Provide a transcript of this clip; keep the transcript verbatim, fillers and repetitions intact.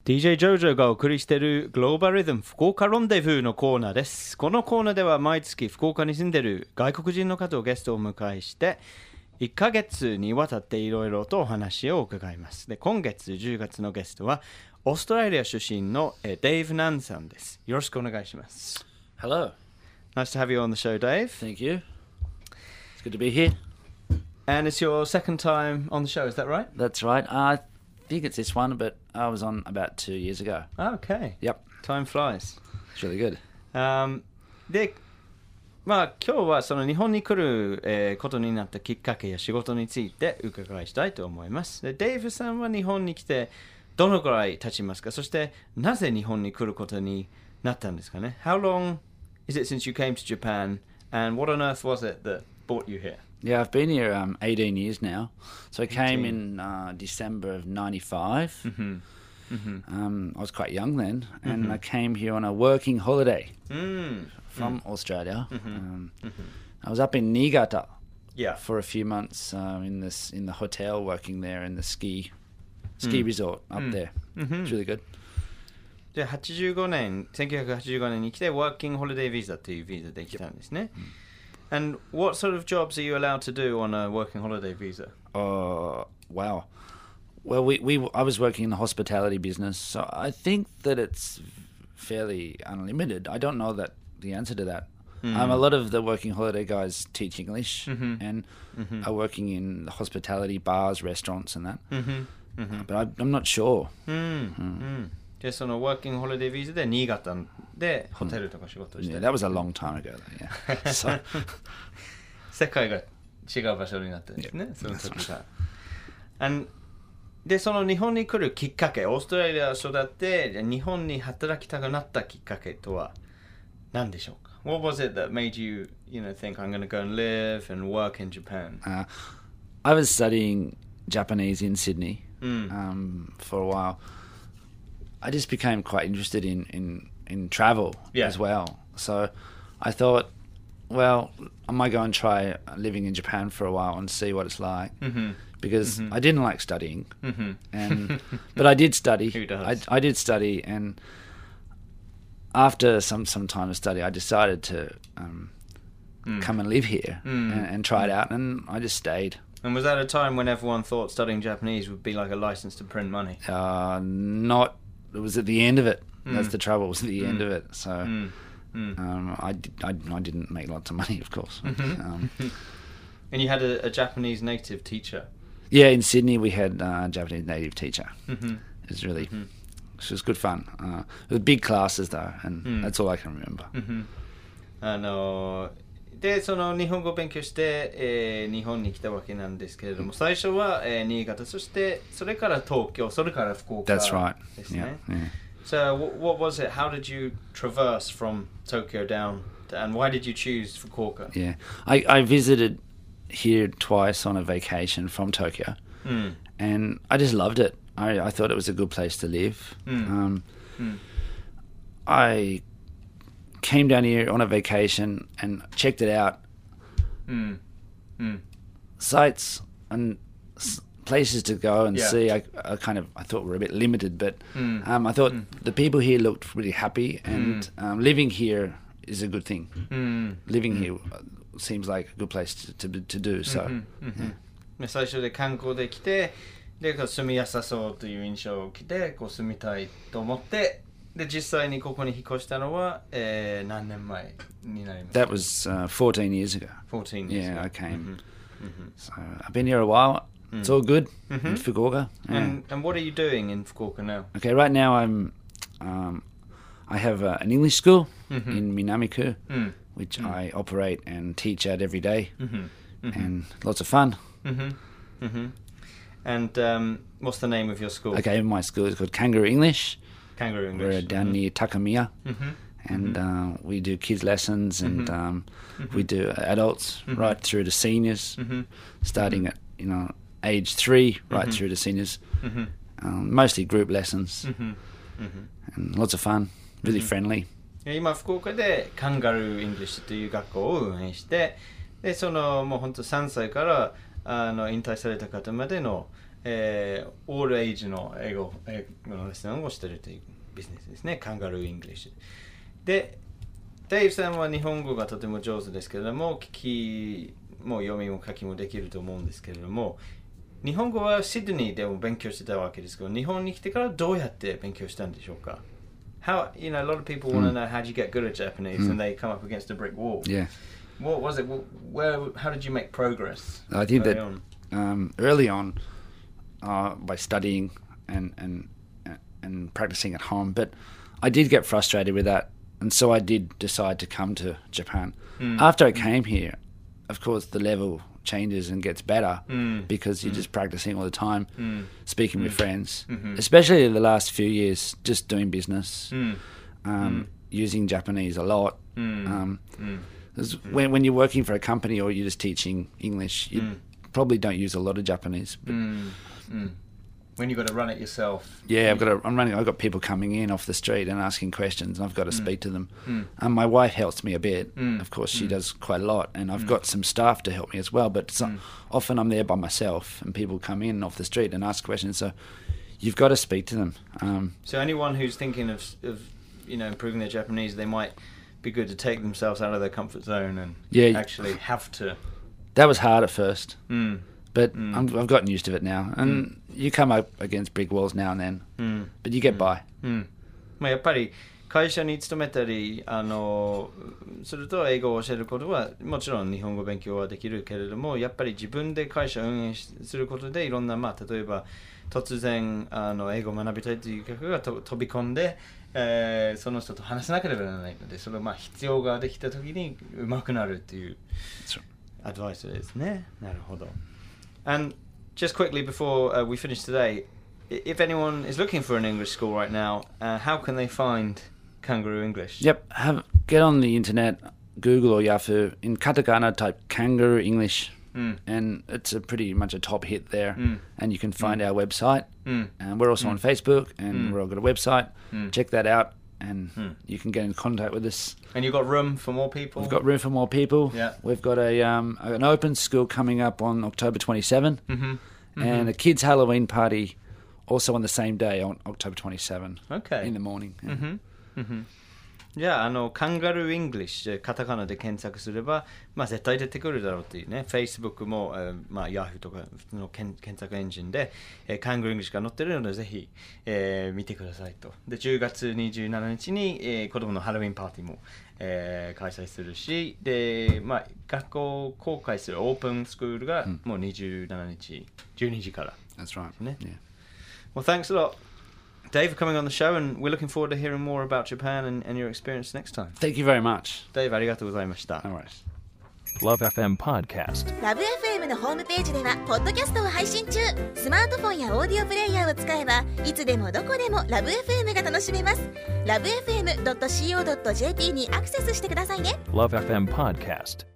ディージェー ジョジョがお送りしているグローバルリズム福岡ロンデブーのコーナーです。このコーナーでは毎月福岡に住んでいる外国人の方をゲストをお迎えしていっかげつにわたっていろいろとお話を伺います。で、今月じゅうがつのゲストはオーストラリア出身のデイブ・ナンさんです。よろしくお願いします。 Hello. Nice to have you on the show, Dave. Thank you. It's good to be here. And it's your second time on the show, is that right? That's right. I think it's this one, but I was on about two years ago. Okay. Yep. Time flies. It's really good. Um, で、まあ今日はその日本に来る、えーことになったきっかけや仕事について伺いしたいと思います。で、デイブさんは日本に来てどのくらい経ちますか？そしてなぜ日本に来ることになったんですかね？ How long is it since you came to Japan, and what on earth was it that brought you here? Yeah, I've been here um, eighteen years now. So I came in uh, December of ninety-five. Mm-hmm. Mm-hmm. Um, I was quite young then, and mm-hmm. I came here on a working holiday mm. from mm. Australia. Mm-hmm. Um, mm-hmm. I was up in Niigata yeah. for a few months uh, in this in the hotel, working there in the ski ski mm. resort up mm. there. Mm-hmm. It's really good. ではちじゅうごねん、せんきゅうひゃくはちじゅうごねんに来て Working Holiday Visa というビザで来たんですね。Mm. And what sort of jobs are you allowed to do on a Working Holiday Visa? Uh, wow. Well, we, we I was working in the hospitality business, so I think that it's fairly unlimited. I don't know that the answer to that. Mm. Um, a lot of the working holiday guys teach English mm-hmm. and mm-hmm. are working in the hospitality bars, restaurants, and that. Mm-hmm. Mm-hmm. Uh, but I, I'm not sure. Mm. Mm. Mm. で、その Working Holiday Visa で新潟でホテルとか仕事をしてる。 Yeah, that was a long time ago. Yeah. So 世界が違う場所になったんですね。Yeah. その時が。And で、その日本に来るきっかけ、オーストラリア育って日本に働きたくなったきっかけとは何でしょうか？ What was it that made you, you know, think I'm going to go and live and work in Japan? Uh, I was studying Japanese in Sydney mm. um, for a while. I just became quite interested in, in, in travel yeah. as well. So I thought, well, I might go and try living in Japan for a while and see what it's like. Mm-hmm. Because mm-hmm. I didn't like studying, mm-hmm. and but I did study. Who does? I, I did study, and after some, some time of study, I decided to um, mm. come and live here mm. and, and try it out, and I just stayed. And was that a time when everyone thought studying Japanese would be like a license to print money? Uh, not. It was at the end of it. Mm. That's the trouble. It was at the mm. end of it. So mm. Mm. Um, I, did, I, I didn't make lots of money, of course. Mm-hmm. um, and you had a, a Japanese native teacher? Yeah, in Sydney we had a Japanese native teacher. Mm-hmm. It was really, mm-hmm. it was good fun. Uh, it was big classes though, and mm. that's all I can remember. Mm-hmm. あので、その日本語を勉強して、えー、日本に来たわけなんですけれども、最初は、えー、新潟、そしてそれから東京、それから福岡 That's right. ですね。 Yeah, yeah. So what was it? How did you traverse from Tokyo down, to, and why did you choose Fukuoka? Yeah, I, I visited here twice on a vacation from Tokyo, mm. and I just loved it. I, I thought it was a good place to live. Mm. Um, mm. I came down here on a vacation and checked it out. Mm. Mm. Sites and s- places to go and yeah. see. I, I kind of I thought were a bit limited, but mm. um, I thought mm. the people here looked really happy, and mm. um, living here is a good thing. Mm. Living mm. here seems like a good place to to, to do. So, mm-hmm. Mm-hmm. Yeah. 最初で観光で来て、で住みやすそうという印象を受けて、こう住みたいと思って、で実際にここに引っ越したのは、えー、何年前になりますか？ That was uh, fourteen years ago. fourteen years Yeah, ago. I came. Mm-hmm. Mm-hmm. So I've been here a while. Mm. It's all good mm-hmm. in Fukuoka. Yeah. And, and what are you doing in Fukuoka now? Okay, right now I'm, um, I have uh, an English school mm-hmm. in Minamiku, mm. which mm. I operate and teach at every day, mm-hmm. Mm-hmm. and lots of fun. Mm-hmm. Mm-hmm. And um, what's the name of your school? Okay, my school is called Kangaroo English. Kangaroo English. We're down mm-hmm. near Takamiya, mm-hmm. and mm-hmm. uh, we do kids lessons, and mm-hmm. um, mm-hmm. we do adults mm-hmm. right through to seniors, mm-hmm. starting mm-hmm. at you know age three right mm-hmm. through to seniors. Mm-hmm. Um, mostly group lessons, mm-hmm. Mm-hmm. and lots of fun. Really mm-hmm. friendly. 今福岡でカンガルー・イングリッシュという学校を運営して、でそのもう本当さんさいからあの引退された方までのえー、オールエイジの英語英語のレッスンをしているというビジネスですね。カンガルー・イングリッシュ。で、デイブさんは日本語がとても上手ですけれども、聞きも読みも書きもできると思うんですけれども、日本語はシドニーでも勉強してたわけですけど、日本に来てからどうやって勉強したんでしょうか？ How, you know, a lot of people want to know how do you get good at Japanese and they come up against a brick wall. Yeah. What was it? Where? How did you make progress? I think that on? Um, early on, uh, by studying and, and and practicing at home, but I did get frustrated with that, and so I did decide to come to Japan. Mm. After I came here, of course, the level changes and gets better mm. because you're mm. just practicing all the time, mm. speaking mm. with friends, mm-hmm. especially the last few years, just doing business, mm. Um, mm. using Japanese a lot. Mm. Um, mm. When, when you're working for a company or you're just teaching English, you mm. probably don't use a lot of Japanese. But mm. Mm. When you've got to run it yourself. Yeah, I've got to, I'm running. I've got people coming in off the street and asking questions, and I've got to mm. speak to them. Mm. And my wife helps me a bit. Mm. Of course, she mm. does quite a lot, and I've mm. got some staff to help me as well. But some, mm. often I'm there by myself, and people come in off the street and ask questions. So you've got to speak to them. Um, so anyone who's thinking of, of, you know, improving their Japanese, they might be good to take themselves out of their comfort zone and yeah, actually have to. That was hard at first, mm. but mm. I'm, I've gotten used to it now. And mm. you come up against brick walls now and then, mm. but you get mm. by. Mm. まあやっぱり会社に勤めたりあのすると英語を教えることはもちろん日本語勉強はできるけれども、やっぱり自分で会社を運営することでいろんな、まあ、例えば突然あの英語を学びたいという客がと飛び込んで、えー、その人と話さなければならないので、それをまあ必要ができた時に上手くなるっていうアドバイスですね。なるほど。And just quickly before uh, we finish today, if anyone is looking for an English school right now, uh, how can they find Kangaroo English? Yep, have get on the internet, Google or Yahoo, in katakana type Kangaroo English, mm. and it's a pretty much a top hit there. Mm. And you can find mm. our website, mm. and we're also mm. on Facebook, and mm. we've all got a website. Mm. Check that out, and mm. you can get in contact with us. And you've got room for more people? We've got room for more people. Yeah. We've got a um, an open school coming up on October twenty-seventh, mm-hmm. Mm-hmm. and a kids' Halloween party also on the same day on October twenty-seventh. Okay. In the morning. Yeah. Mm-hmm. Mm-hmm. じゃあ、あの、カンガルー・イングリッシュ、カタカナで検索すれば、まあ、絶対出てくるだろうっていうね、Facebook も、えーまあ、Yahoo とかの検索エンジンで、えー、カンガルー・イングリッシュが載ってるので、ぜひ、えー、見てくださいと。で、じゅうがつにじゅうしちにちに、えー、子供のハロウィンパーティーも、えー、開催するし、で、まあ、学校公開するオープンスクールが、もうにじゅうしちにち、じゅうにじから。 That's right. ね。 Yeah. Well, thanks a lot, Dave, for coming on the show, and we're looking forward to hearing more about Japan and, and your experience next time. Thank you very much. Dave, ありがとうございました。 All right. Love エフエム Podcast。 ラブ エフエム のホームページではポッドキャストを配信中。スマートフォンやオーディオプレイヤーを使えばいつでもどこでもラブ エフエム が楽しめます。ラブ エフエムドットシーオードットジェーピー にアクセスしてくださいね。 Love エフエム Podcast。